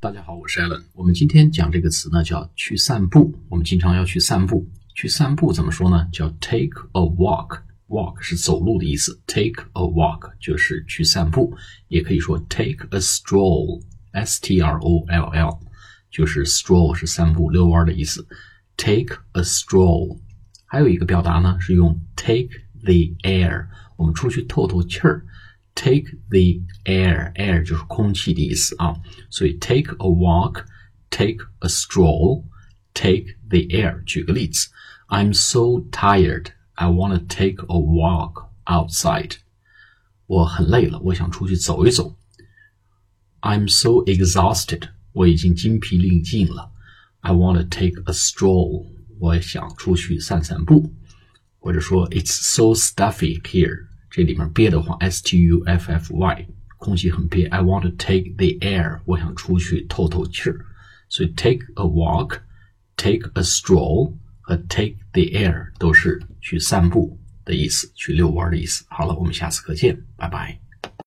大家好，我是 Alan。我们今天讲这个词呢，叫去散步。我们经常要去散步，去散步怎么说呢？叫 take a walk。walk 是走路的意思 ，take a walk 就是去散步，也可以说 take a stroll，S-T-R-O-L-L， 就是 stroll 是散步遛弯的意思 ，take a stroll。还有一个表达呢，是用 take the air， 我们出去透透气儿。Take the air， air 就是空气的意思啊，所以 take a walk， take a stroll， take the air。举个例子 ，I'm so tired, I want to take a walk outside。我很累了，我想出去走一走。I'm so exhausted， 我已经精疲力尽了。I want to take a stroll， 我想出去散散步。或者说 It's so stuffy here。这里面憋的慌 S-T-U-F-F-Y， 空气很憋 I want to take the air， 我想出去透透气儿。所以 take a walk， take a stroll 和 take the air 都是去散步的意思，去遛弯的意思。好了，我们下次课见，拜拜。